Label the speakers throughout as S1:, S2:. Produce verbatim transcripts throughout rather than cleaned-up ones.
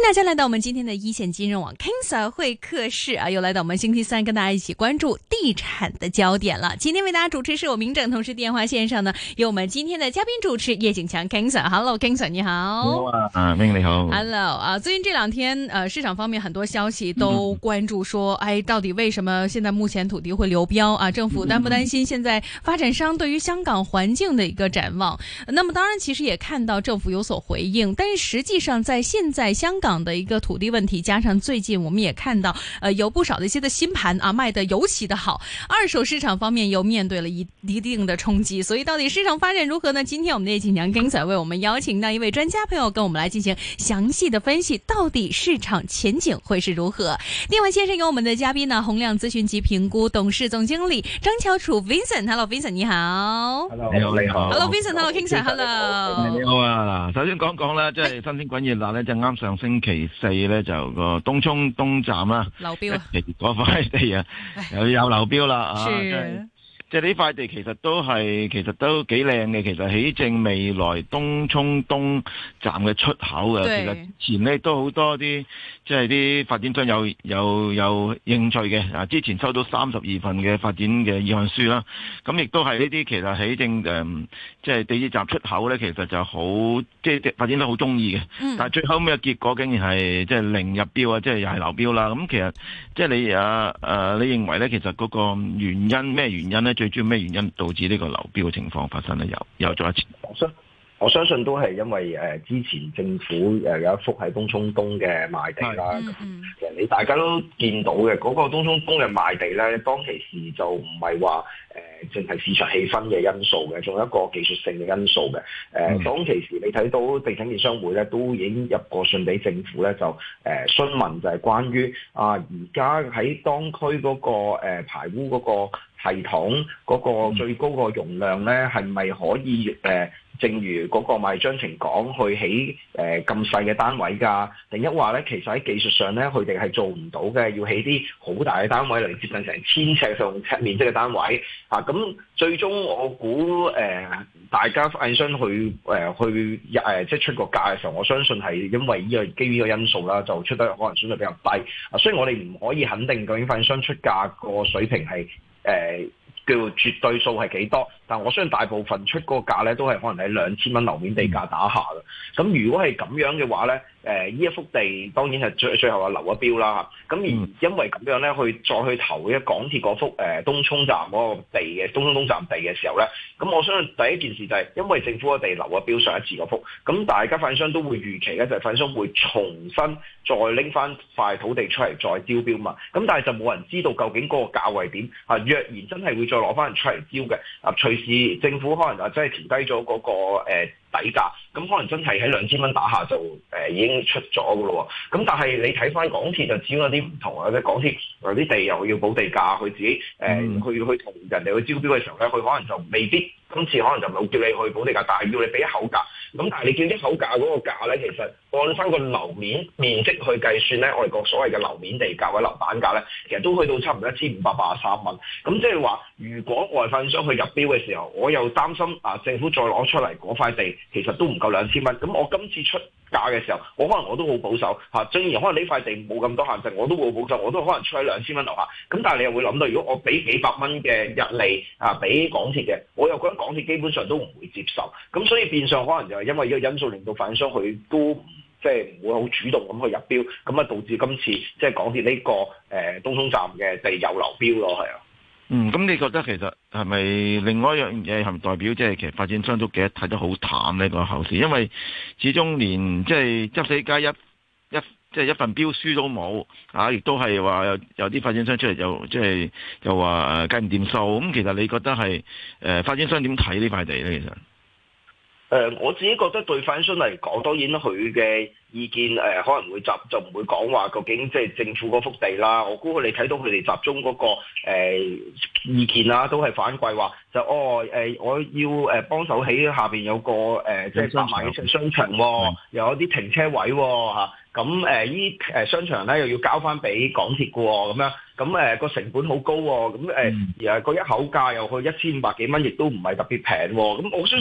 S1: 大家來到我們今天的一線金融網 King Sir 會客室啊，又來到我們星期三跟大家一起關注地產的焦點了。今天為大家主持是我明正，同時電話線上呢有我們今天的嘉賓主持葉景強 King Sir。Hello King Sir 你好。
S2: 你好啊，啊明你好。
S1: Hello 啊，最近這兩天呃市場方面很多消息都關注說，嗯、哎到底為什麼現在目前土地會流標啊？政府擔不擔心現在發展商對於香港環境的一個展望？那麼當然其實也看到政府有所回應，但是實際上在現在香港的一個土地問題，加上最近我們也看到，呃，有不少的一些的新盤啊賣得尤其的好，二手市場方面又面對了一一定的衝擊，所以到底市場發展如何呢？今天我們的葉景強 King Sir 為我們邀請到一位專家朋友跟我們來進行詳細的分析，到底市場前景會是如何？電話線上有我們的嘉賓呢，宏亮諮詢及評估董事總經理張翹楚 Vincent。Hello Vincent 你好。
S2: Hello 你好你好。
S1: Hello Vincent，Hello King Sir，Hello。
S2: 你好啊，嗱，首先講講啦，即係新鮮滾熱辣咧，就啱上星期四咧就個東涌東站啦，
S1: 流標啊，
S2: 嗰塊地啊又有流標啦啊，
S1: 是
S2: 即係呢塊地其實都係其實都幾靚嘅，其實起正未來東涌東站嘅出口嘅，其實前咧都好多啲即係啲發展商有有有興趣嘅啊，之前收到三十二份嘅發展嘅意向書啦，咁亦都係呢啲其實起正誒即係地鐵站出口咧，其實就好即係發展得好中意嘅，嗯、但係最後尾嘅結果竟然係即係零入標啊，即係又係流標啦。咁其實即係你啊誒、啊，你認為咧，其實嗰個原因咩原因咧？最主要咩原因導致呢個流標嘅情況發生咧？又又再一次，
S3: 我相我相信都係因為誒、呃、之前政府誒有一幅喺東涌東嘅賣地啦。咁、嗯、其實你大家都見到嘅嗰、那個東涌東嘅賣地咧，當其時就唔係話誒淨係市場氣氛嘅因素嘅，仲有一個技術性嘅因素嘅。誒、呃嗯、當其時你睇到地產建商會咧都已經入過信俾政府咧，就誒、呃、詢問就係關於啊而家喺當區嗰、那個、呃、排污嗰、那個系統嗰個最高個容量咧，係咪可以誒、呃，正如嗰個賣章程講，去起誒咁細嘅單位㗎？定一話咧，其實喺技術上咧，佢哋係做唔到嘅，要起啲好大嘅單位嚟接近成千尺上尺面積嘅單位啊！咁最終我估誒、呃，大家發展商去誒、呃、去誒、呃、即係出個價嘅時候，我相信係因為呢個基於呢個因素啦，就出得可能相對比較低啊。所以我哋唔可以肯定究竟發展商出價個水平係。誒、呃、叫絕對數係幾多？但我相信大部分出嗰個價咧，都係可能喺兩千蚊樓面地價打下嘅。咁如果係咁樣嘅話咧，誒、呃、呢一幅地當然係最最後係流咗標啦。咁而因為咁樣咧，去再去投一港鐵嗰幅誒、呃、東涌站嗰個地嘅東涌東站地嘅時候咧，咁我相信第一件事就係因為政府個地流咗標上一次嗰幅，咁大家發展商都會預期咧，就係發展商會重新再拎翻塊土地出嚟再招標嘛。咁但係就冇人知道究竟嗰個價位點啊？若然真係會再攞翻人出嚟招嘅啊，隨時政府可能啊真係調低咗嗰、那個、呃、底價，咁可能真係喺兩千蚊打下就誒、呃、已經出咗噶咯喎。咁但係你睇翻港鐵就只有啲唔同啊，即係港鐵有啲地又要補地價，佢自己誒、呃嗯、去去同人哋去招標嘅時候咧，佢可能就未必今次可能就冇叫你去補地價，但係要你俾一口價。咁但係你叫一口價嗰個價咧，其實按翻個樓面面積去計算咧，我哋個所謂嘅樓面地價或者樓板價咧，其實都去到差唔多一千五百八十三蚊。咁即係話，如果外發展商去入標嘅時候，我又擔心啊，政府再攞出嚟嗰塊地其實都唔夠兩千蚊。咁我今次出價嘅時候，我可能我都好保守嚇。雖然可能呢塊地冇咁多限制，我都會保守，我都可能出喺兩千蚊樓下。咁但係你又會諗到，如果我俾幾百蚊嘅日利啊，俾港鐵嘅，我又覺得港鐵基本上都唔會接受。咁所以變相可能就係因為呢個因素令到發展商佢都即係唔會好主動咁去入標，咁啊導致今次即係港鐵呢、這個誒、呃、東涌站嘅地有流標咯，係啊。
S2: 嗯，咁你覺得其實係咪另外一樣嘢係咪代表即係其實發展商都幾睇得好淡呢個後市？因為始終連即係執死街一一即係一份標書都冇啊，亦都係話有有啲發展商出嚟又即係又話誒計唔掂數。咁其實你覺得係誒、呃、發展商點睇呢塊地咧？其實？
S3: 誒、呃、我自己覺得對發展商嚟講，當然佢嘅意見誒、呃、可能會集就唔會講話究竟即係政府嗰幅地啦。我估佢哋睇到佢哋集中嗰、那個、呃、意見啦，都係反饋話就哦誒、呃，我要誒幫手起下邊有個誒即係百萬嘅商場喎、哦，又有啲停車位喎嚇。咁誒依誒商場咧又要交翻俾港鐵嘅喎，咁樣咁誒個成本好高喎，咁誒而個一口價又去一千五百幾蚊，亦都唔係特別平喎。咁我相信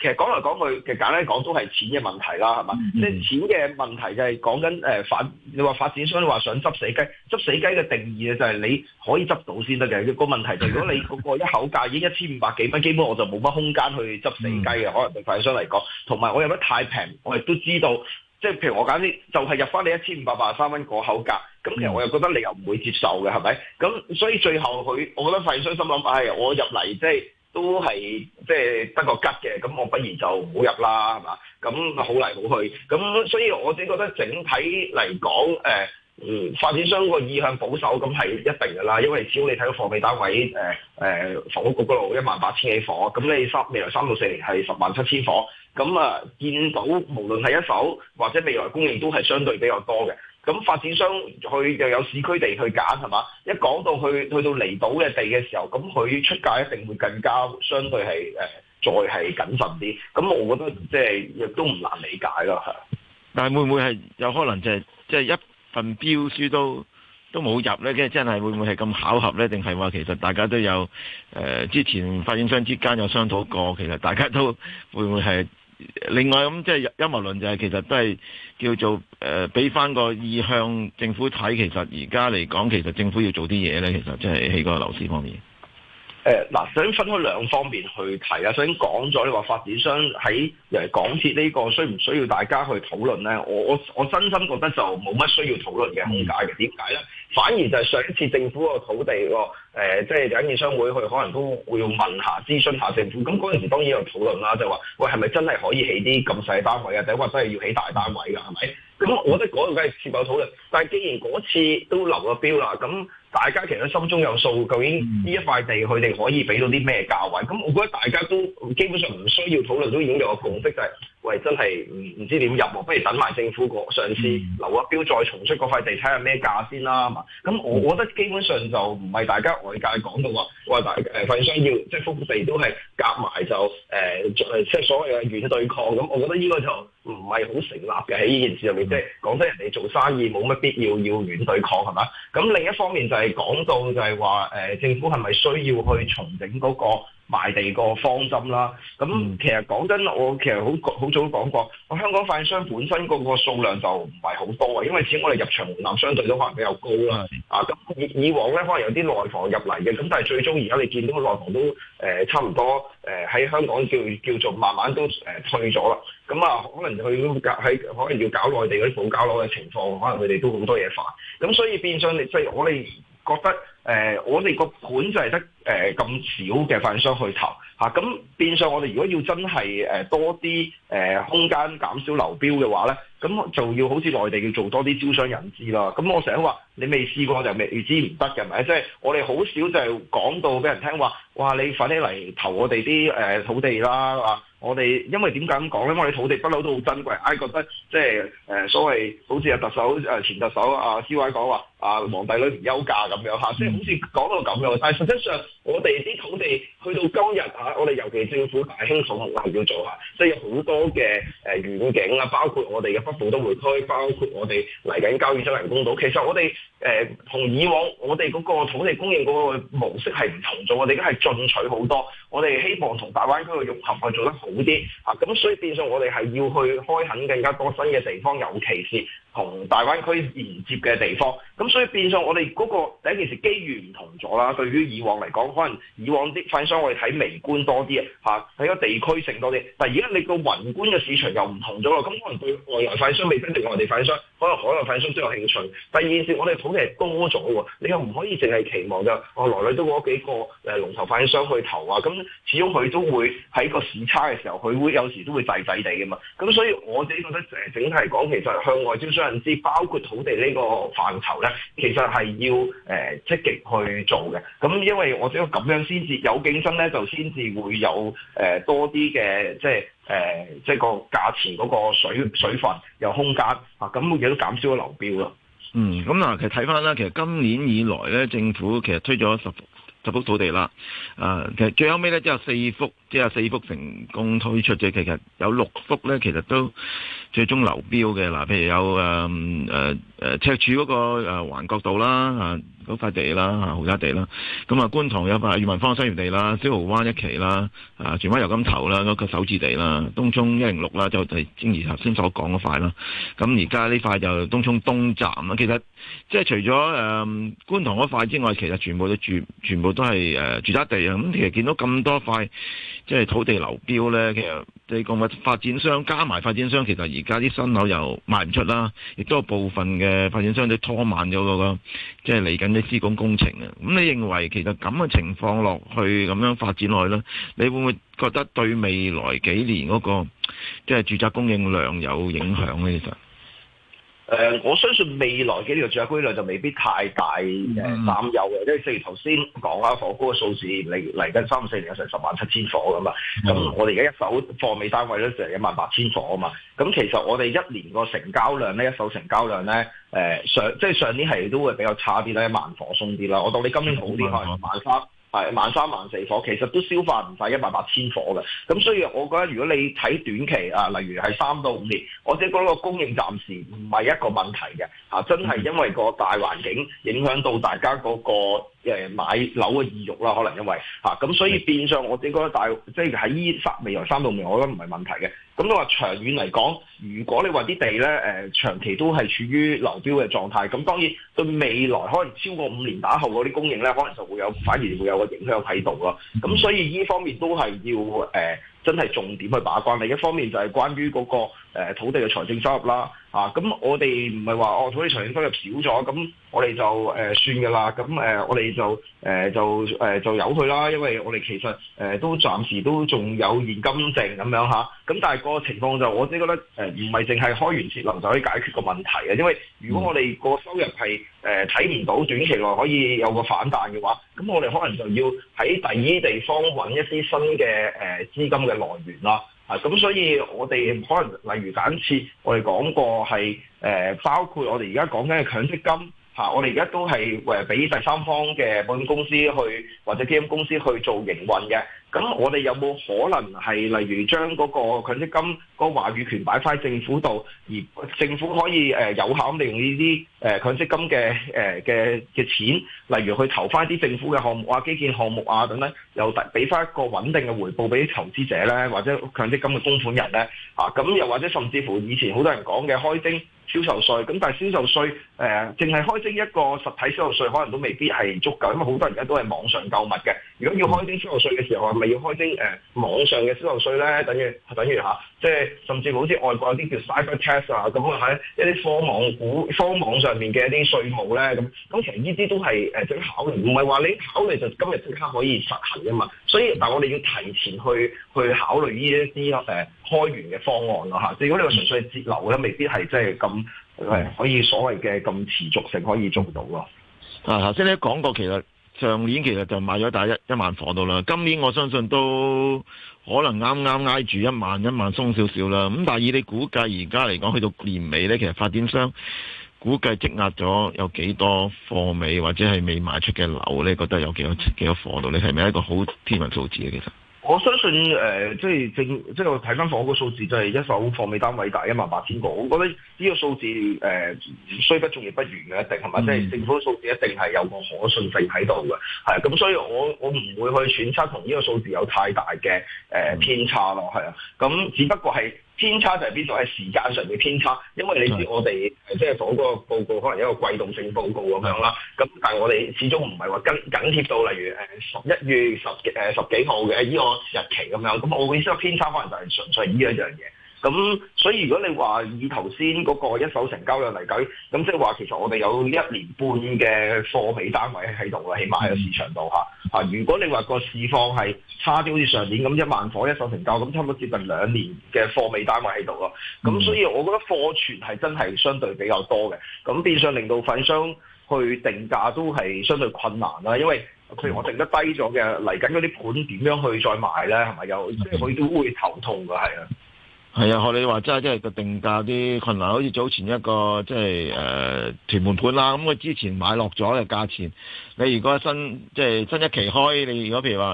S3: 其實講嚟講去，其實簡單講都係錢嘅問題啦，係嘛？即係、嗯、錢嘅問題就係講緊誒發，你話發展商你話想執死雞，執死雞嘅定義就係你可以執到先得嘅。個問題就係如果你嗰個一口價已經一千五百幾蚊，基本我就冇乜空間去執死雞嘅，可能對發展商嚟講。同埋我入得太平，我亦都知道。即係譬如我揀啲，就係入翻你一千五百八十三蚊個口價，咁其實我又覺得你又唔會接受嘅，係咪？咁所以最後佢，我覺得發展商心諗，唉、哎，我入嚟即係都係即係得個吉嘅，咁我不如就唔好入啦，係嘛？咁好嚟好去，咁所以我自己覺得整體嚟講，誒、呃，嗯，發展商個意向保守，咁係一定㗎啦，因為只要你睇到貨尾單位，誒、呃、誒，房屋局嗰度一萬八千幾伙，咁你三未來三到四年係十萬七千伙。咁啊，見到無論係一手或者未來供應都係相對比較多嘅。咁發展商佢又有市區地去揀係嘛？一講到去去到離島嘅地嘅時候，咁佢出價一定會更加相對係誒、呃、再係謹慎啲。咁我覺得即係亦都唔難理解咯，係。
S2: 但係會唔會係有可能就係即係一份標書都都冇入咧？即係真係會唔會係咁巧合咧？定係話其實大家都有誒、呃、之前發展商之間有商討過，其實大家都會唔會係？另外咁即係陰謀論就係其實都係叫做誒俾翻個意向政府睇，其實而家嚟講其實政府要做啲嘢咧，其實即係喺個樓市方面。
S3: 誒嗱，首先分開兩方面去睇啦。首先講咗你話發展商喺誒港鐵呢個需唔需要大家去討論咧？我我我真心覺得就冇乜需要討論嘅空間嘅。點解咧？反而就係上一次政府個土地個誒，即係有啲商會去可能都會要問下諮詢下政府。咁嗰陣時當然有討論啦，就話喂係咪真係可以起啲咁細單位啊？定話真係要起大單位㗎？係咪？咁我覺得嗰度梗係接有討論。但係既然嗰次都流咗標啦，咁大家其實心中有數，究竟呢一塊地佢哋可以俾到啲咩價位？咁我覺得大家都基本上唔需要討論，都已經有個共識，就係、是、喂真係唔唔知點入喎，不如等埋政府個上次流咗標再重出嗰塊地睇下咩價先啦嘛。咁我我覺得基本上就唔係大家外界講到話話大誒發展商要即係幅地都係夾埋就誒誒即係所謂嘅軟對抗。咁我覺得呢個就唔係好成立嘅喺呢件事入面。即係講真，人哋做生意冇乜必要要軟對抗係嘛？咁另一方面就係講到就係話誒政府係咪需要去重整嗰個賣地個方針啦？咁其實講真，我其實好好早都講過，我香港發展商本身嗰個數量就唔係好多啊，因為始終我哋入場門檻相對都可能比較高啦。啊，咁以以往咧可能有啲內房入嚟嘅，咁但係最終而家你見到個內房都誒、呃、差唔多誒喺、呃、香港叫叫做慢慢都誒、呃、退咗啦。咁啊，可能佢都喺可能要搞內地嗰啲保交樓嘅情況，可能佢哋都好多嘢煩。咁所以變相你即係我哋覺得誒、呃，我哋個盤就係得誒咁少嘅發展商去投嚇，咁、啊、變相我哋如果要真係誒、呃、多啲誒、呃、空間減少流標嘅話咧，咁就要好似內地要做多啲招商引資啦。咁我成日話你未試過就未知唔得嘅，係咪？即係我哋好少就係講到俾人聽話，哇！你快啲嚟投我哋啲誒土地啦啊！我哋因為點解咁講咧？因為我哋土地不嬲都好珍貴，唉覺得即係誒所謂好似阿特首誒前特首阿 C Y 講話啊皇帝女唔憂嫁咁樣嚇，即係好似講到咁樣。但係實際上我哋啲土地去到今日嚇，我哋尤其政府大興土木係要做下，即係有好多嘅誒遠景啊，包括我哋嘅北部都會區，包括我哋嚟緊交椅洲人工島。其實我哋誒同以往我哋嗰個土地供應嗰個模式係唔同咗，我哋而家係進取好多，我哋希望同大灣區嘅融合去做得好啲啊，咁所以變相我哋係要去開墾更加多新嘅地方，尤其是同大灣區連接嘅地方。咁所以變相我哋嗰個第一件事機遇唔同咗啦。對於以往嚟講，可能以往啲發展商我哋睇微觀多啲啊，睇個地區性多啲。但係而家你個宏觀嘅市場又唔同咗啦。咁可能對外來發展商未必對外地發展商，可能海外發展商都有興趣。第二件事，我哋土地係多咗喎，你又唔可以淨係期望就哦來來都嗰幾個誒龍頭發展商去投啊。咁始終佢都會喺個市差嘅時候，佢會有時都會滯滯地嘅嘛。咁所以我自己覺得誒整體講，其實向外招商引資，包括土地呢個範疇咧，其實係要誒、呃、積極去做嘅。咁因為我覺得咁樣先至有競爭咧，就先至會有誒、呃、多啲嘅即係誒、呃、即係個價錢嗰個水水分有空間啊，咁亦都減少咗流標咯。
S2: 嗯，咁嗱，其實睇翻啦，其實今年以來咧，政府其實推咗十十幅土地啦，啊，其實最後尾咧，只有四幅，即係四幅成功推出啫。其實有六幅咧，其實都最終流標嘅嗱，譬如有誒誒誒赤柱嗰個誒環角道啦啊。嗰塊地啦，啊豪宅地啦，咁啊觀塘有塊裕民坊商業地啦，小蠔灣一期啦，啊荃灣油柑頭啦，嗰、那個首置地啦，東涌一零六啦，就係正如頭先所講嗰塊啦。咁而家呢塊就東涌東站啦。其實即係除咗誒、呃、觀塘嗰塊之外，其實全部都住，全部都係誒、呃、住宅地啊。咁其實見到咁多塊即係土地流標咧，其實你講話發展商加埋發展商，其實而家啲新樓又賣唔出啦，亦都有部分嘅發展商都拖慢咗嗰個即係嚟緊啲施工工程啊。咁你認為其實咁嘅情況落去咁樣發展落去咧，你會唔會覺得對未來幾年嗰個即係住宅供應量有影響咧？其實？
S3: 誒、呃，我相信未來幾年嘅住宅供應量就未必太大誒擔憂嘅，因為正如頭先講啦，房屋嘅數字嚟嚟緊三四年有成十萬七千伙噶嘛，咁、嗯、我哋而家一手貨尾單位咧就係一萬八千伙啊嘛，咁其實我哋一年個成交量咧，一手成交量咧，誒、呃、上即係上年係都會比較差啲啦，一萬伙鬆啲啦，我當你今年好啲可能萬三。係萬三萬四伙，其實都消化唔晒一萬八千伙嘅，咁所以我覺得如果你睇短期啊，例如係三到五年，我自己覺得個供應暫時唔係一個問題嘅，嚇、啊、真係因為個大環境影響到大家嗰、那個。誒買樓嘅意欲啦，可能因為嚇咁、啊，所以變相我自己覺得大即係喺依三未來三到五年，我覺得唔係問題嘅。咁你話長遠嚟講，如果你話啲地咧誒、呃、長期都係處於流標嘅狀態，咁當然對未來可能超過五年打後嗰啲供應咧，可能就會有反而會有個影響喺度咯。咁所以依方面都係要誒、呃、真係重點去把關。另一方面就係關於嗰、那個、呃、土地嘅財政收入啦。啊，咁我哋唔係話哦土地財政收入少咗，咁我哋就誒、呃、算㗎啦。咁誒、呃、我哋就誒、呃、就誒、呃、就由佢啦，因為我哋其實誒、呃、都暫時都仲有現金剩咁樣嚇。咁但係個情況就我自己覺得誒唔係淨係開源節流就可以解決個問題嘅，因為如果我哋個收入係誒睇唔到短期內可以有個反彈嘅話，咁我哋可能就要喺第二地方揾一啲新嘅誒、呃、資金嘅來源啦。啊，咁所以我哋可能例如假設我哋講過係誒、呃，包括我哋而家講緊嘅強積金嚇、啊，我哋而家都係誒俾第三方嘅保險公司去或者基金公司去做營運嘅。咁我哋有冇可能係例如將嗰個強積金嗰個話語權擺翻喺政府度，而政府可以誒有效咁利用呢啲誒強積金嘅誒嘅嘅錢，例如去投翻一啲政府嘅項目啊、基建項目啊等等，又俾翻一個穩定嘅回報俾啲投資者咧，或者強積金嘅供款人咧，啊咁又或者甚至乎以前好多人講嘅開徵銷售稅，咁但係銷售稅誒淨係開徵一個實體銷售稅，可能都未必係足夠，因為好多人而家都係網上購物嘅。如果要開徵銷售稅嘅時候，係咪要開徵誒、呃、網上嘅銷售稅咧？等於等於嚇，即係甚至好似外國有啲叫 cyber tax 啊，咁喺一啲科網股、科網上面嘅一啲稅務咧，咁咁其實呢啲都係誒值得考慮，唔係話你考慮就今日即刻可以實行㗎嘛。所以，但係我哋要提前去去考慮呢一啲誒開源嘅方案咯嚇。即係如果你話純粹係節流咧，未必係即係咁誒可以所謂嘅咁持續性可以做到咯。
S2: 啊，頭先你講過其實。上年其實就買咗大一一萬伙到啦，今年我相信都可能啱啱挨住一萬一萬鬆少少啦。咁但係以你估計而家嚟講，去到年尾呢，其實發展商估計積壓咗有幾多貨尾或者係未賣出嘅樓呢？覺得有幾多幾多貨到？你係咪一個好天文數字嘅其實？
S3: 我相信誒、呃，即係正，即係我睇翻房屋個數字，就係一手貨尾單位大一萬八千個。我覺得呢個數字誒，雖、呃、不中亦不遠嘅，一定係咪？即係、嗯、政府數字一定係有個可信性喺度嘅，係咁，所以我我唔會去揣測同呢個數字有太大嘅誒、呃、偏差咯，係啊。咁只不過係偏差就係邊度？係時間上嘅偏差，因為你知我哋即係房屋個報告可能一個季度性報告咁樣啦。咁但係我哋始終唔係話跟緊貼到例如誒十一月十誒、呃、十幾號嘅呢個日期咁樣。咁我意思個偏差可能就係純粹係呢一樣嘢。咁所以如果你話以頭先嗰個一手成交量嚟計，咁即係話其實我哋有一年半嘅貨尾單位喺度啦，起碼喺個市場度嚇。啊，如果你話個市況係差啲，好似上年咁一萬伙一手成交，咁差唔多接近兩年嘅貨尾單位喺度咯。咁所以我覺得貨存係真係相對比較多嘅，咁變相令到發展商去定價都係相對困難啦，因為譬如我定得低咗嘅，嚟緊嗰啲盤點樣去再賣咧？係咪又即係佢都會頭痛㗎？係啊。
S2: 係啊，學你話齋，即係個定價啲困難，好似早前一個即係誒屯門盤啦，咁佢之前買落咗嘅價錢，你如果新即係新一期開，你如果譬如話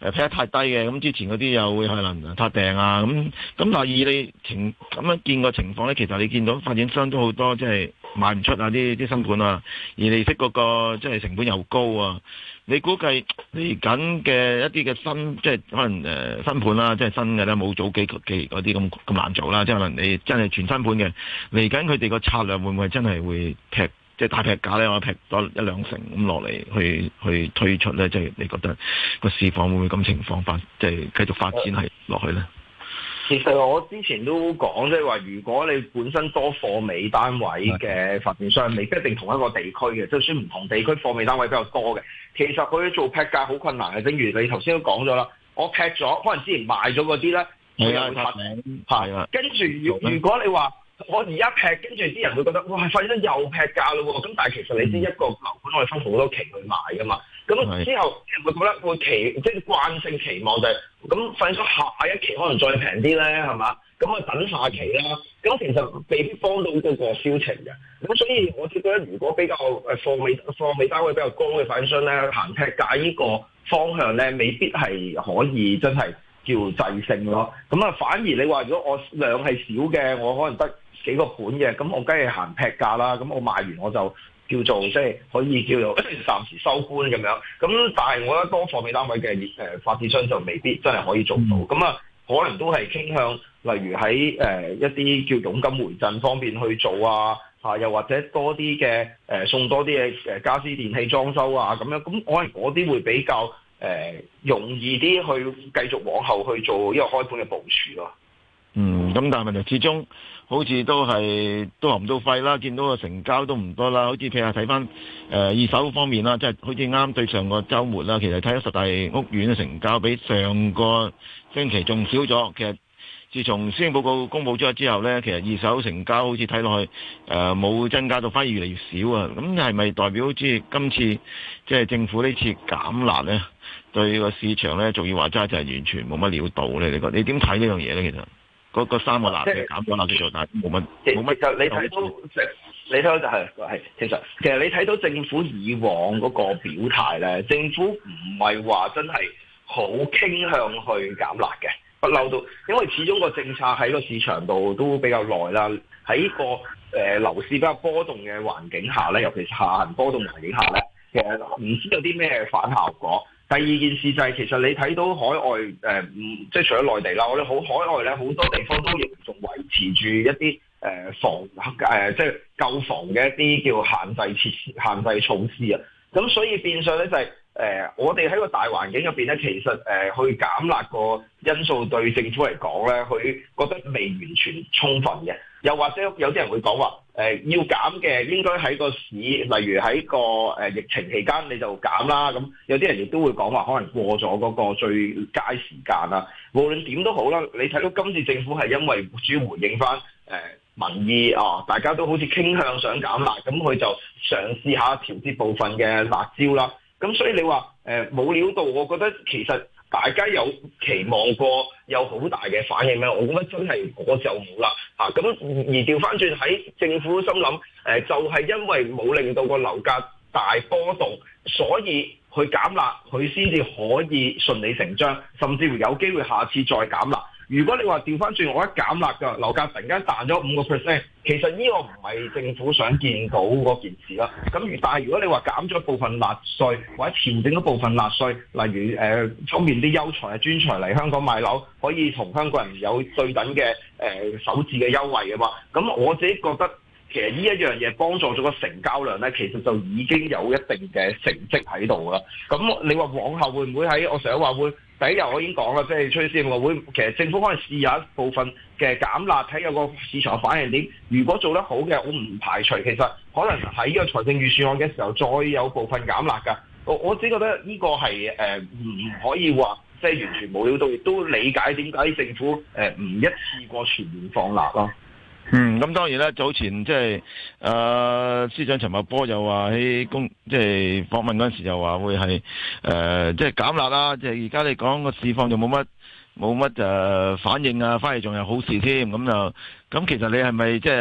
S2: 誒劈得太低嘅，咁之前嗰啲又會可能撻訂啊，咁咁但係以你情咁樣見個情況咧，其實你見到發展商都好多即係賣唔出啊啲啲新盤啊，而利息嗰個即係成本又高啊，你估計嚟緊嘅一啲嘅新即係可能誒新盤啦，即係新嘅咧冇早幾期嗰啲咁咁難做啦，即係可能你真係全新盤嘅嚟緊佢哋個策略會唔會真係會劈？即係大劈價咧，我劈多一兩成咁落嚟，去去推出咧，即係你覺得個市況會唔會咁情況發，即係繼續發展係落去咧？
S3: 其實我之前都講，即係話如果你本身多貨尾單位嘅發展商，未必一定同一個地區嘅，就算唔同地區貨尾單位比較多嘅，其實佢做劈價好困難嘅。正如你頭先都講咗啦，我劈咗，可能之前賣咗嗰啲咧，佢又會發名，係啊，跟住如如果你話，我而家劈，跟住啲人會覺得哇，發展商又劈價咯喎！咁但係其實你知一個樓盤可以分好多期去賣噶嘛？咁之後啲人會覺得會期即係慣性期望就係、是、咁，發展商下一期可能再平啲咧，係嘛？咁我等下期啦。咁其實未必幫到嗰個銷情嘅。咁所以我覺得如果比較誒貨尾貨尾單位比較高嘅發展商咧，行劈價呢個方向咧，未必係可以真係叫制勝咯。咁啊，反而你話如果我量係少嘅，我可能得幾個盤嘅，咁我梗係行劈價啦。咁我賣完我就叫做即係可以叫做暫時收官咁樣。咁但係我覺得多貨尾單位嘅誒發展商就未必真係可以做到。咁啊，可能都係傾向例如喺誒、呃、一啲叫佣金回贈方面去做啊，啊又或者多啲嘅誒送多啲嘅誒家私電器裝修啊咁樣。咁可能嗰啲會比較誒、呃、容易啲去繼續往後去做呢個開盤嘅部署咯。
S2: 嗯，咁但係問題始終好似都係都含到肺啦，見到個成交都唔多啦。好似譬如睇翻誒二手方面啦，即係好似啱對上個週末啦，其實睇咗十大屋苑嘅成交比上個星期仲少咗。其實自從施政報告公佈咗之後呢，其實二手成交好似睇落去誒冇、呃、增加到，反而越嚟越少啊。咁係咪代表好似今次即係政府呢次減辣呢，對個市場呢，仲要話齋就係完全冇乜料到呢？你覺你點睇呢樣嘢呢？其實？嗰個三個辣嘅減咗辣叫做，但係冇乜冇乜。其實你睇到，
S3: 你睇到就係係其實其實你睇到政府以往嗰個表態咧，政府唔係話真係好傾向去減辣嘅，不嬲都，因為始終個政策喺個市場度都比較耐啦，喺個誒、呃、樓市比較波動嘅環境下咧，尤其是下行波動環境下咧，其實唔知有啲咩反效果。第二件事就係、是、其實你睇到海外誒，唔、呃、即係除咗內地啦，我哋好海外咧好多地方都仍仲維持住一啲誒、呃、防誒、呃、即係購房嘅一啲叫限制設施、限制措施啊。咁所以變相咧就係、是、誒、呃，我哋喺個大環境入邊咧，其實誒、呃、去減辣個因素對政府嚟講咧，佢覺得未完全充分嘅。又或者有啲人會講話，誒、呃、要減嘅應該喺個市，例如喺個誒、呃、疫情期間你就減啦。咁有啲人亦都會講話，可能過咗嗰個最佳時間啦。無論點都好啦，你睇到今次政府係因為主要回應翻誒、呃、民意啊，大家都好似傾向想減辣，咁佢就嘗試下調節部分嘅辣椒啦。咁所以你話誒冇料到，我覺得其實大家有期望過有好大嘅反應咩？我覺得真係嗰就冇啦嚇。咁、啊、而調翻轉喺政府心諗誒、呃，就係、是、因為冇令到個樓價大波動，所以去減辣，佢先至可以順理成章，甚至乎有機會下次再減辣。如果你話調翻轉，我一減辣嘅樓價突然間彈咗五個 percent，其實呢個唔係政府想見到嗰件事啦。咁如但係如果你話減咗部分辣稅，或者調整咗部分辣稅，例如誒、呃、方便啲優才啊專才嚟香港買樓，可以同香港人有對等嘅誒、呃、首置嘅優惠嘅話，咁我自己覺得其實呢一樣嘢幫助咗個成交量咧，其實就已經有一定嘅成績喺度啦。咁你話往後會唔會喺我成日話會？第一日我已經講啦，即係吹先，我會其實政府可能試下一部分嘅減辣，睇有個市場反應點。如果做得好嘅，我唔排除其實可能喺呢個財政預算案嘅時候，再有部分減辣㗎。我我只覺得呢個係誒唔可以話即係完全冇料到，亦都理解點解政府誒唔一次過全面放辣咯。
S2: 嗯，咁當然啦，早前即係誒司長陳茂波又話喺公即係訪問嗰陣時又話會係誒即係減辣啦，即係而家你講個市況就冇乜冇乜誒反應啊，反而仲有好事添，咁就咁其實你係咪即係下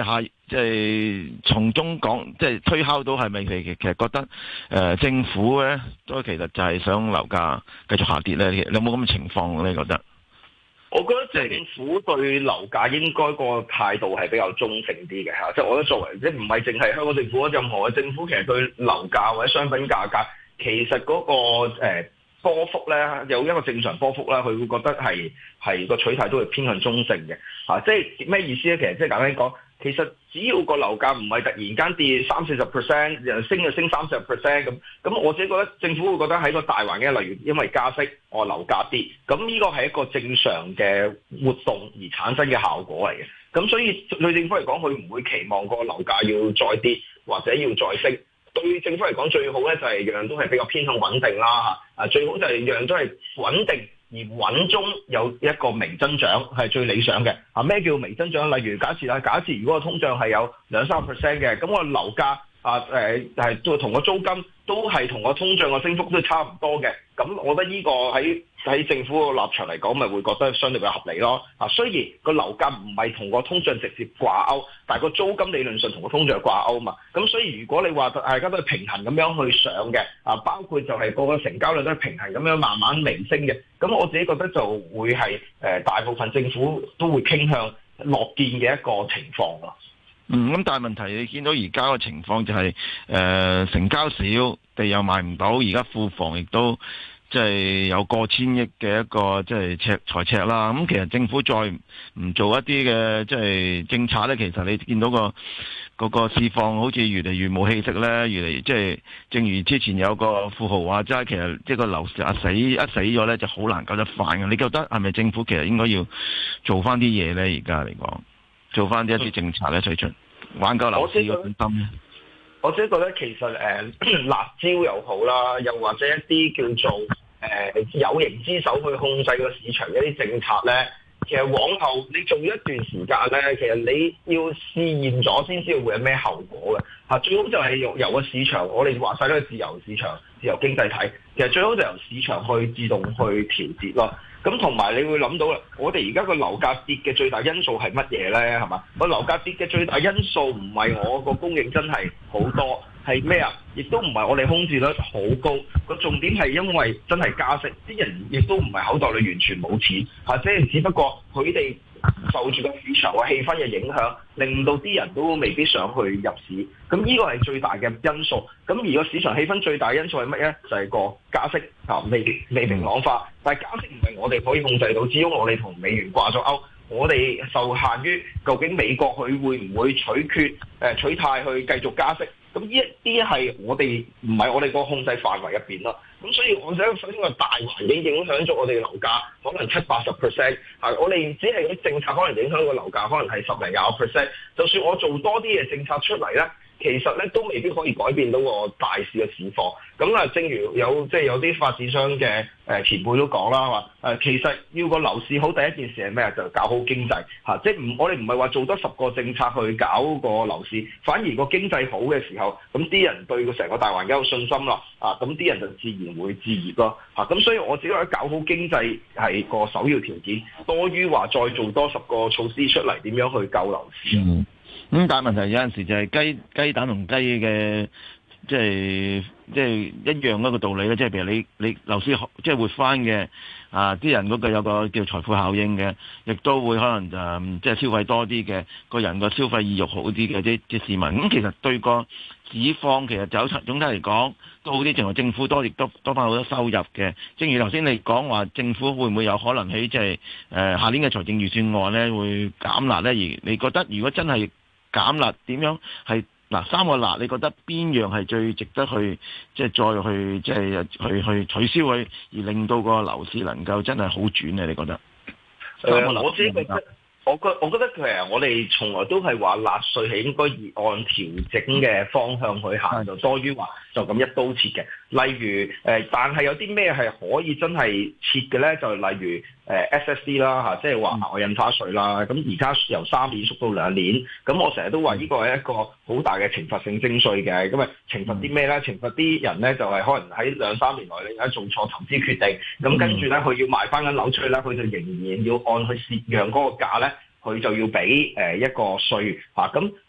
S2: 即係從中講，即係推敲到係咪其其實覺得誒、呃、政府咧都其實就係想樓價繼續下跌咧？你有冇咁嘅情況咧？你覺得？
S3: 我覺得政府對樓價應該個態度係比較中性啲嘅嚇，即係我覺得作為即係唔係淨係香港政府，任何嘅政府其實對樓價或者商品價格其實嗰、那個、呃波幅咧有一個正常波幅啦，佢會覺得係係個取態都係偏向中性嘅嚇，即係咩意思咧？其實即係簡單講，其實只要個樓價唔係突然間跌三四十 percent，又升就升三四十 percent 咁，咁我自己覺得政府會覺得喺個大環境，例如因為加息，我樓價跌，咁呢個係一個正常嘅活動而產生嘅效果嚟嘅。咁所以對政府嚟講，佢唔會期望個樓價要再跌或者要再升。對政府嚟講，最好咧就係樣樣都係比較偏向穩定啦嚇，啊最好就係樣樣都係穩定而穩中有一個微增長係最理想嘅。啊咩叫微增長？例如假設啦，假設如果個通脹係有兩三個 percent 嘅，咁個樓價啊誒係都同個租金都係同個通脹個升幅都差唔多嘅，咁我覺得呢個喺喺政府個立場嚟講，咪會覺得相對比較合理咯。啊，雖然個樓價唔係同個通脹直接掛鈎，但係個租金理論上同個通脹掛鈎嘛。咁所以如果你話大家都係平衡咁樣去上嘅，啊，包括就係個個成交量都係平衡咁樣慢慢微升嘅，咁我自己覺得就會係誒、呃、大部分政府都會傾向樂見嘅一個情況咯。
S2: 嗯，咁但係問題你見到而家個情況就係、是、誒、呃、成交少，地又賣唔到，而家庫房亦都即係有過千億嘅一個即係赤財赤啦。咁其實政府再唔做一啲嘅即係政策咧，其實你見到個嗰個市況好似越嚟越冇氣息咧，越嚟即係正如之前有個富豪話齋，其實即係個樓市死一死咗咧就好難救得返嘅。你覺得係咪政府其實應該要做翻啲嘢咧？而家嚟講？做翻啲一啲政策咧，推出挽救樓市嘅信心咧。
S3: 我自己覺得其實誒、呃、辣椒又好啦，又或者一啲叫做誒、呃、有形之手去控制個市場一啲政策咧，其實往後你做一段時間咧，其實你要試驗咗先知道會有咩後果嘅嚇。最好就係由由個市場，我哋話晒都係自由市場、自由經濟體，其實最好就由市場去自動去調節咯。咁同埋你會諗到啦，我哋而家個樓價跌嘅最大因素係乜嘢咧？係嘛？個樓價跌嘅最大因素唔係我個供應真係好多，係咩啊？亦都唔係我哋空置率好高。個重點係因為真係加息，啲人亦都唔係口袋裏完全冇錢，或者只不過佢哋受住個市場個氣氛嘅影響，令到啲人都未必想去入市。咁呢個係最大嘅因素。咁而個市場氣氛最大因素係乜咧？就係、是、個加息啊，未未明朗化。但係加息唔係我哋可以控制到，只要我哋同美元掛咗鈎，我哋受限於究竟美國佢會唔會取決誒取態去繼續加息。咁呢一啲係我哋唔係我哋個控制範圍入邊咯。咁所以我想首先個大環境影響咗我哋嘅樓價，可能七八十 percent 係我哋只係啲政策可能影響個樓價，可能係十零廿個 percent。就算我做多啲嘅政策出嚟咧，其實咧都未必可以改變到個大市嘅市況。咁啊，正如有即係有啲發展商嘅誒前輩都講啦，話誒其實要個樓市好，第一件事係咩啊？就搞好經濟嚇，即係唔我哋唔係話做多十個政策去搞個樓市，反而個經濟好嘅時候，咁啲人對個成個大環境有信心啦，啊咁啲人就自然會置業咯嚇。咁所以我自己覺得搞好經濟係個首要條件，多於話再做多十個措施出嚟點樣去救樓市。
S2: 嗯，咁但係問題有陣時就係雞雞蛋同雞嘅。即係即係一樣嗰個道理咧，即係譬如你你樓市即係活翻嘅啊，啲人嗰個有個叫財富效應嘅，亦都會可能就、嗯、即係消費多啲嘅，個人個消費意欲好啲嘅啲啲市民。咁、嗯、其實對個市況其實走總體嚟講都好啲，淨係政府多亦都多翻好多收入嘅。正如頭先你講話，政府會唔會有可能喺即係誒下年嘅財政預算案咧會減辣咧？而你覺得如果真係減辣，點樣係？嗱，三個辣，你覺得邊樣係最值得去即係再去即係去去取消佢，而令到個樓市能夠真係好轉咧？你覺得？
S3: 誒、呃，我自己覺得，我覺我覺得其實我哋從來都係話納稅係應該以按調整嘅方向去行，就多於話就咁一刀切嘅。例如誒、呃，但係有啲咩係可以真係切嘅咧？就例如誒 S S D 啦嚇，即係話額外印花稅啦。咁而家由三年縮到兩年，咁我成日都話呢個係一個好大嘅懲罰性徵稅嘅。咁啊懲罰啲咩咧？懲罰啲人咧就係、是、可能喺兩三年內你而家做錯投資決定，咁跟住咧佢要賣翻緊樓出去咧，佢就仍然要按佢蝕讓嗰個價咧。佢就要俾誒一個稅嚇，咁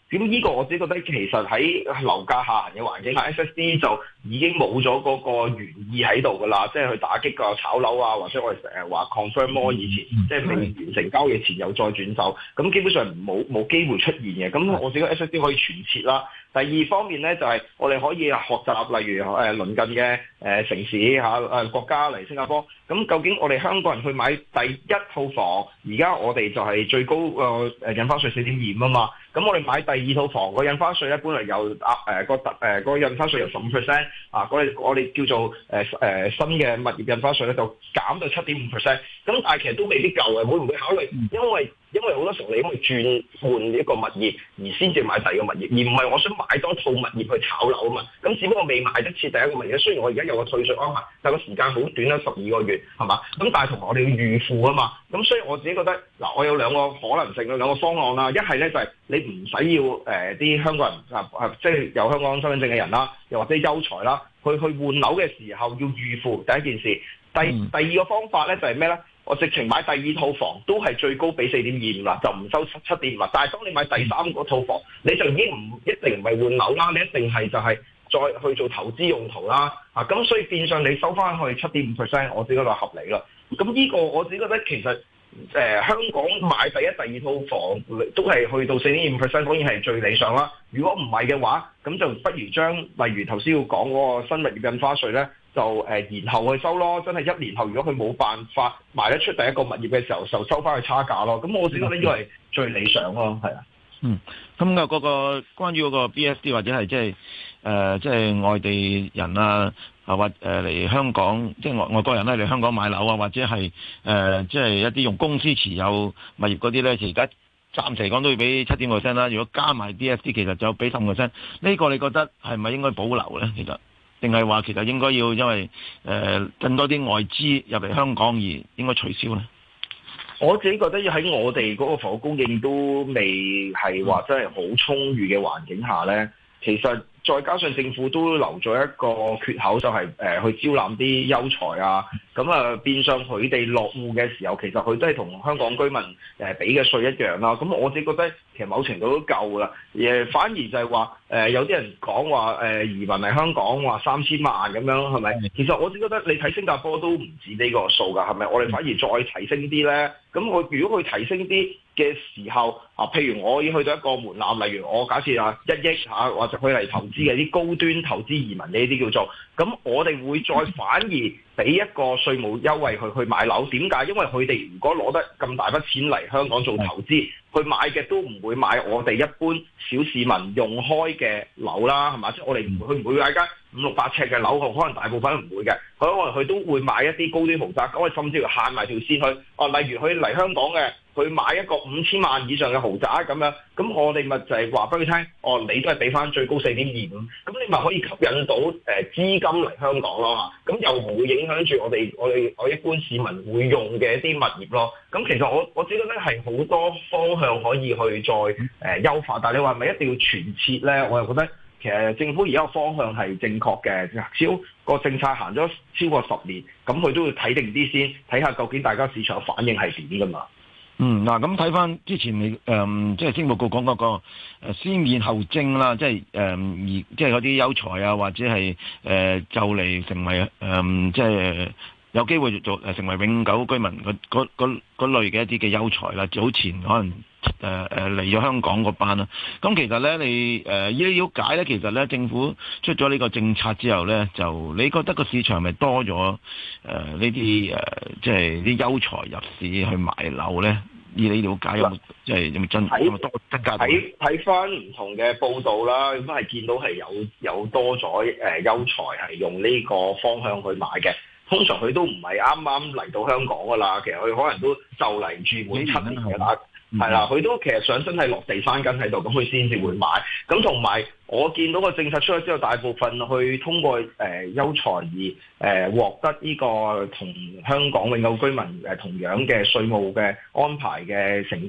S3: 咁呢個我自己覺得其實喺樓價下行嘅環境下 ，S S D 就已經冇咗嗰個原意喺度㗎啦，即係去打擊個炒樓啊，或者我哋成日話 confirm more 以前，即係未完成交易前又再轉售，咁基本上冇冇機會出現嘅。咁我自己 S S D 可以全撤啦。第二方面咧就係、是、我哋可以學習，例如誒、呃、鄰近嘅誒、呃、城市嚇誒、呃、國家嚟新加坡。咁究竟我哋香港人去買第一套房，而家我哋就係最高個誒、呃、印花稅四點二五啊嘛。咁我哋買第二套房個印花稅咧，本來由啊誒個特誒個印花稅由十五 percent 啊，我哋我哋叫做誒誒、呃呃、新嘅物業印花稅咧，就減到七點五 percent。咁但係其實都未必夠嘅，會唔會考慮？因為因為好多時候你因為轉換一個物業而先至買第二個物業，而唔係我想買多套物業去炒樓啊嘛。咁只不過未買得切第一個物業，雖然我而家有個退稅安排，但係個時間好短啦，十二個月係嘛。咁但係同埋我哋要預付啊嘛。咁所以我自己覺得嗱，我有兩個可能性嘅兩個方案啦。一係咧就係、是、你唔使要誒啲、呃、香港人啊啊，即係有香港身份證嘅人啦，又或者優才啦，去去換樓嘅時候要預付第一件事。第第二個方法咧就係咩咧？我直情買第二套房都係最高俾四點二五啦，就唔收七七點五啦。但係當你買第三個套房，你就已經唔一定唔係換樓啦，你一定係就係再去做投資用途啦。啊，咁所以變相你收翻去七點五 percent，我自己覺得合理啦。咁呢個我自己覺得其實誒、呃、香港買第一、第二套房都係去到四點五 percent，當然係最理想啦。如果唔係嘅話，咁就不如將例如頭先要講嗰個新物業印花稅咧。就誒延後去收咯，真係一年後，如果佢冇辦法賣得出第一個物業嘅時候，就收翻去差價咯。咁我覺得呢個係最理想咯，係啊。
S2: 嗯，咁嘅嗰個關於嗰個 B S D 或者係即係誒即係外地人啊，啊或誒嚟香港，即係外外國人咧嚟香港買樓啊，或者係誒即係一啲用公司持有物業嗰啲咧，而家暫時嚟講都要俾七點五 percent 啦。如果加埋 B S D，其實就俾十五 percent。呢個你覺得係咪應該保留咧？其實？定係話其實應該要因為誒、呃、更多啲外資入嚟香港而應該取消咧？
S3: 我自己覺得要喺我哋嗰個房屋供應都未係話真係好充裕嘅環境下咧，其實再加上政府都留咗一個缺口，就係、是、誒、呃、去招攬啲優才啊，咁啊變相佢哋落戶嘅時候，其實佢都係同香港居民誒俾嘅稅一樣啦。咁我自己覺得其實某程度都夠啦。誒反而就係話誒有啲人講話誒移民嚟香港話三千萬咁樣係咪？其實我自己覺得你睇新加坡都唔止呢個數㗎，係咪？我哋反而再提升啲咧。咁我如果佢提升啲嘅時候啊，譬如我已經去到一個門檻，例如我假設啊一億嚇，或者佢嚟投資嘅啲高端投資移民呢啲叫做，咁我哋會再反而俾一個稅務優惠去去買樓。點解？因為佢哋如果攞得咁大筆錢嚟香港做投資，佢買嘅都唔會買我哋一般小市民用開嘅樓啦，係嘛？即係我哋唔會，佢唔會買間五六百尺嘅樓，可能大部分都唔會嘅。佢可能佢都會買一啲高端豪宅，咁我甚至乎限埋條線去。哦、啊，例如佢嚟香港嘅，佢買一個五千萬以上嘅豪宅咁樣，咁我哋咪就係話俾佢聽，哦，你都係俾翻最高四點二五，咁你咪可以吸引到誒資金嚟香港咯嚇，咁又唔會影響住我哋我哋我一般市民會用嘅一啲物業咯。咁其實我我只覺得係好多方向可以去再誒、呃、優化，但係你話係咪一定要全撤咧？我又覺得其實政府而家個方向係正確嘅，超個政策行咗超過十年，咁佢都要睇定啲先，睇下究竟大家市場反應係點噶嘛。
S2: 嗯，嗱，咁睇翻之前你誒、嗯，即係政務局講嗰個誒先免後徵啦，即係誒而即係嗰啲優才啊，或者係誒、呃、就嚟成為誒、嗯、即係有機會做誒成為永久居民嗰嗰類嘅一啲嘅優才啦，早前可能誒誒嚟咗香港嗰班啦。咁其實咧，你誒依啲了解咧，其實咧政府出咗呢個政策之後咧，就你覺得個市場係咪多咗誒呢啲誒即係啲優才入市去買樓咧？以你了解有冇即係有冇增有冇多增加？
S3: 睇睇翻唔同嘅報道啦，咁係見到係有有多咗誒優才係用呢個方向去買嘅。通常佢都唔係啱啱嚟到香港噶啦，其實佢可能都就嚟住滿七年嘅啦，係啦，佢都其實想真係落地生根喺度，咁佢先至會買。咁同埋我見到個政策出咗之後，大部分去通過誒、呃、優才而誒、呃、獲得呢個同香港永久居民誒同樣嘅稅務嘅安排嘅成交，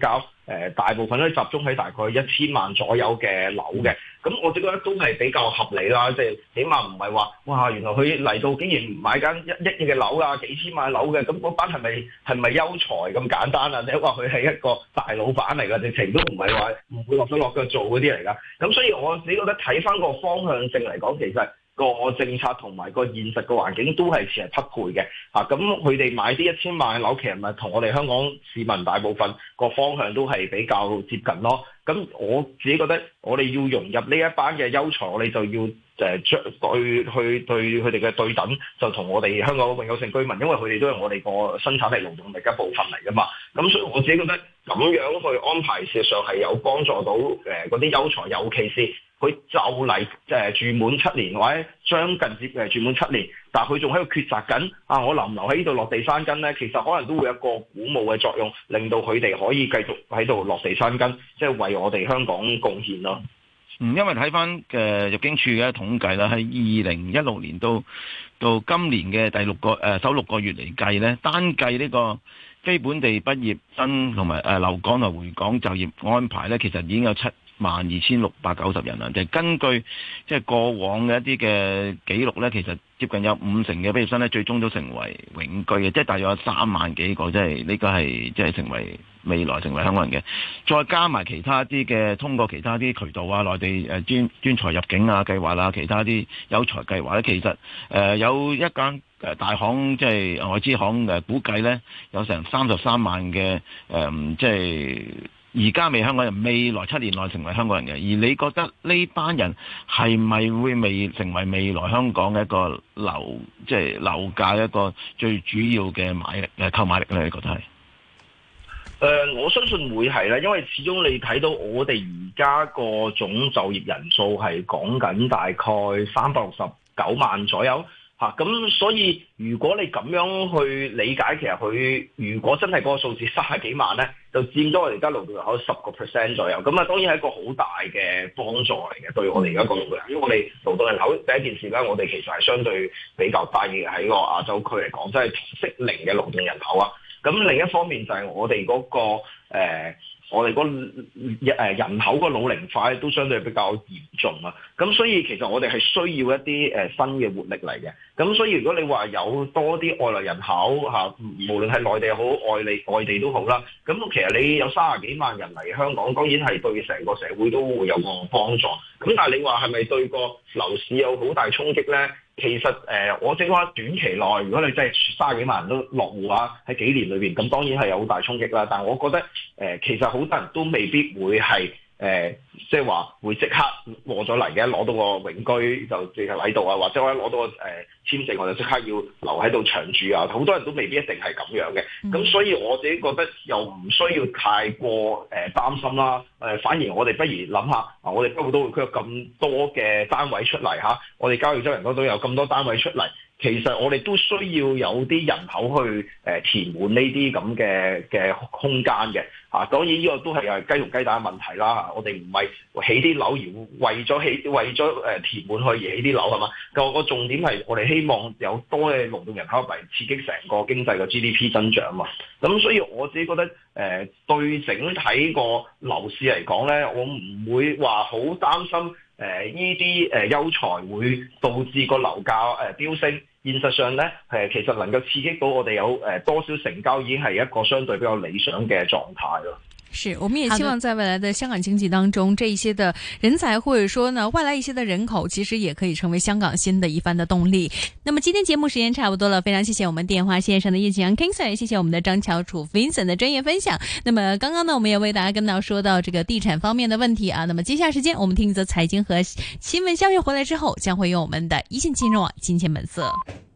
S3: 呃、大部分都集中喺大概一千萬左右嘅樓嘅。咁我覺得都係比較合理啦，即係起碼唔係話哇，原來佢嚟到竟然買間一億嘅樓啊，幾千萬樓嘅，咁嗰班係咪係咪優才咁簡單啊？你話佢係一個大老闆嚟㗎，直情都唔係話唔會落手落腳做嗰啲嚟㗎。咁所以我自己覺得睇翻個方向性嚟講，其實個政策同埋個現實個環境都係似係匹配嘅嚇。咁佢哋買啲一千萬嘅樓，其實咪同我哋香港市民大部分個方向都係比較接近咯。咁我自己覺得，我哋要融入呢一班嘅優才，我哋就要誒將對去對佢哋嘅對等，就同我哋香港永久性居民，因為佢哋都係我哋個生產力勞動力一部分嚟噶嘛。咁所以我自己覺得咁樣去安排，事實上係有幫助到誒嗰啲優才，尤其是佢就嚟誒住滿七年或者將近接誒住滿七年，但係佢仲喺度抉擇緊啊，我留唔留喺呢度落地生根咧？其實可能都會有一個鼓舞嘅作用，令到佢哋可以繼續喺度落地生根，即係為我哋香港貢獻咯。
S2: 嗯，因為睇翻嘅入境處嘅統計啦，喺二零一六年到到今年嘅第六個誒、呃、首六個月嚟計咧，單計呢個非本地畢業生同埋誒留港同回港就業安排咧，其實已經有七萬二千六百九十人啦。就係、根據即係過往嘅一啲嘅記錄咧，其實接近有五成嘅畢業生咧，最終都成為永居嘅，即係大約有三萬幾個，即係呢個係即係成為未來成為香港人嘅。再加埋其他啲嘅通過其他啲渠道啊，內地誒專專才入境啊計劃啦，其他啲有才計劃咧，其實誒、呃、有一間誒大行即係外資行誒估計咧，有成三十三萬嘅誒、呃、即係。而家未香港人，未來七年內成為香港人嘅，而你覺得呢班人係咪會未成為未來香港嘅一個樓，即係樓價一個最主要嘅買力誒購買力咧？你覺得係？誒、
S3: 呃，我相信會係啦，因為始終你睇到我哋而家個總就業人數係講緊大概三百六十九萬左右。嚇，咁所以如果你咁樣去理解，其實佢如果真係嗰個數字三十幾萬咧，就佔咗我哋而家勞動人口十個 percent 左右。咁啊，當然係一個好大嘅幫助嚟嘅，對我哋而家個勞動人口。因為我哋勞動人口第一件事咧，我哋其實係相對比較低嘅喺個亞洲區嚟講，即係適齡嘅勞動人口啊。咁另一方面就係我哋嗰個誒。呃我哋嗰誒人口個老齡化都相對比較嚴重啊，咁所以其實我哋係需要一啲誒新嘅活力嚟嘅。咁所以如果你話有多啲外來人口嚇，無論係內地好、外地外地都好啦，咁其實你有三十幾萬人嚟香港，當然係對成個社會都會有個幫助。咁但係你話係咪對個樓市有好大衝擊咧？其實誒、呃，我正話短期內，如果你真係三十幾萬人都落戶啊，喺幾年裏邊，咁當然係有好大衝擊啦。但係我覺得誒、呃，其實好多人都未必會係誒，即係話會即刻過咗嚟嘅，攞到個永居就直係喺度啊，或者我一攞到個誒簽證，我就即刻要留喺度長住啊。好多人都未必一定係咁樣嘅。咁、嗯、所以我自己覺得又唔需要太過誒、呃、擔心啦。誒、呃，反而我哋不如諗下，啊，我哋北部都會區有咁多嘅單位出嚟嚇，我哋交易州人嗰度有咁多單位出嚟。其實我哋都需要有啲人口去誒、呃、填滿呢啲咁嘅嘅空間嘅嚇、啊，當然呢個都係誒雞同雞蛋嘅問題啦、啊。我哋唔係起啲樓而為咗起為咗誒、呃、填滿去而起啲樓係嘛？個個重點係我哋希望有多嘅勞動人口嚟刺激成個經濟嘅 G D P 增長嘛。咁所以我自己覺得誒、呃、對整體個樓市嚟講咧，我唔會話好擔心。誒呢啲誒優才會導致個樓價誒、呃、飆升，現實上咧誒、呃、其實能夠刺激到我哋有誒、呃、多少成交，已經係一個相對比較理想嘅狀態咯。
S1: 是，我們也希望在未來的香港經濟當中，這一些的人才或者說呢外來一些的人口，其實也可以成為香港新的一番的動力。那麼今天節目時間差不多了，非常謝謝我們電話線上的葉景陽 King Sir，也謝謝我們的張翹楚 Vincent 的專業分享。那麼剛剛呢，我們也為大家跟到說到這個地產方面的問題啊。那麼接下來時間，我們聽一則財經和新聞消息回來之後，將會用我們的一線金融網金錢本色。